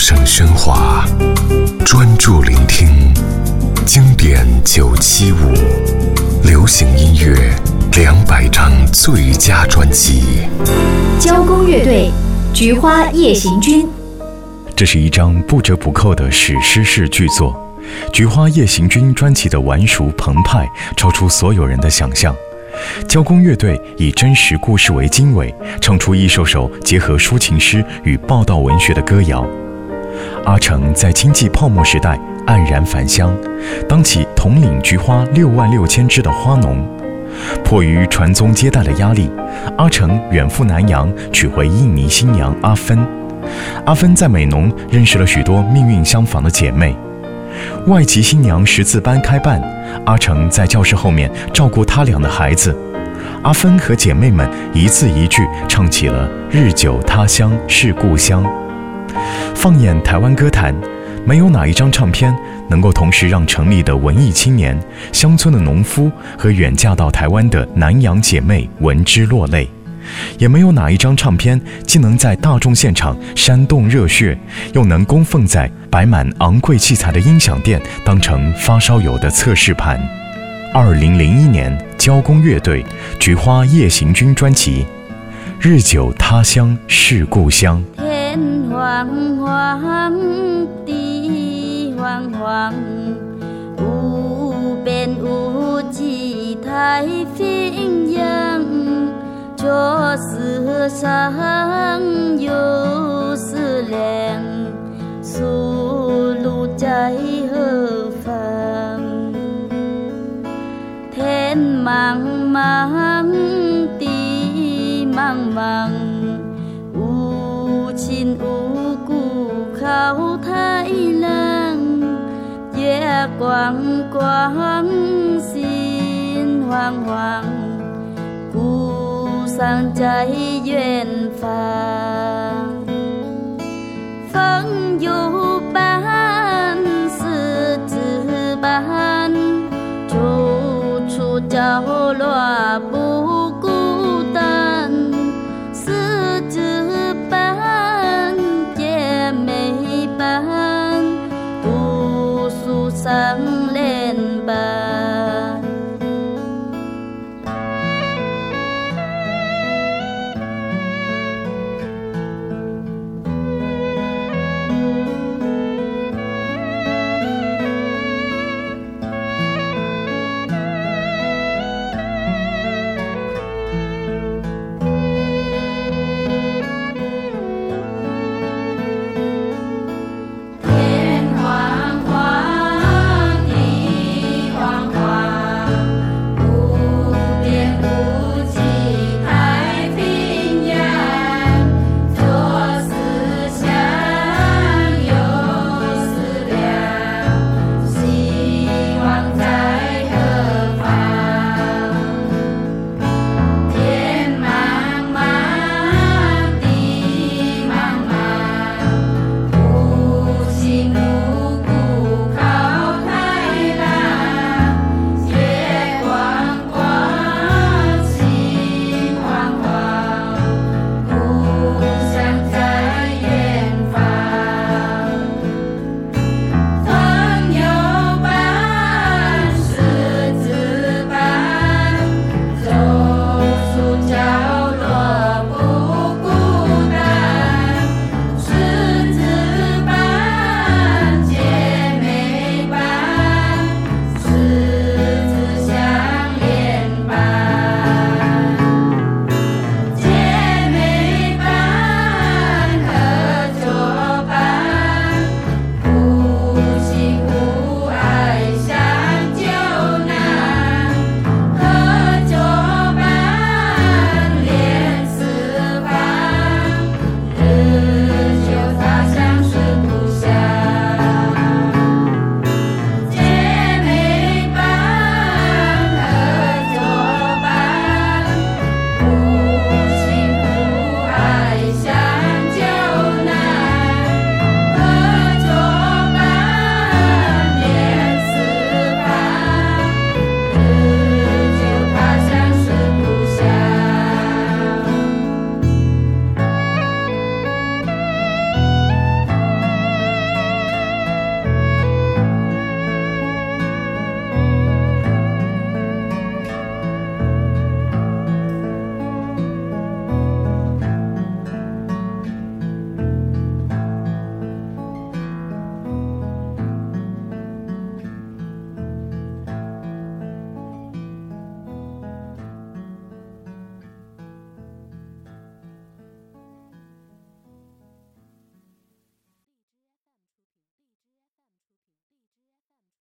声喧哗，专注聆听经典975，流行音乐200张最佳专辑。 交工乐队《菊花夜行军》， 这是一张不折不扣的史诗式巨作。《菊花夜行军》专辑的完熟澎湃，超出所有人的想象。交工乐队以真实故事为经纬，唱出一首首结合抒情诗与报道文学的歌谣。阿成在经济泡沫时代黯然返乡，当起统领菊花66000枝的花农。迫于传宗接代的压力，阿成远赴南洋，娶回印尼新娘阿芬。阿芬在美浓认识了许多命运相仿的姐妹。外籍新娘识字班开办，阿成在教室后面照顾他俩的孩子。阿芬和姐妹们一字一句唱起了日久他乡是故乡。放眼台湾歌坛，没有哪一张唱片能够同时让城里的文艺青年、乡村的农夫和远嫁到台湾的南洋姐妹闻之落泪，也没有哪一张唱片既能在大众现场煽动热血，又能供奉在摆满昂贵器材的音响店当成发烧友的测试盘。2001年，交工乐队《菊花夜行军》专辑《日久他乡是故乡》。 天黄黄，地黄黄，无边无际太平洋。这世上有思量，出路在何方？天茫茫，地茫茫，无亲无故靠太郎。月光光，心慌慌，故乡在远方。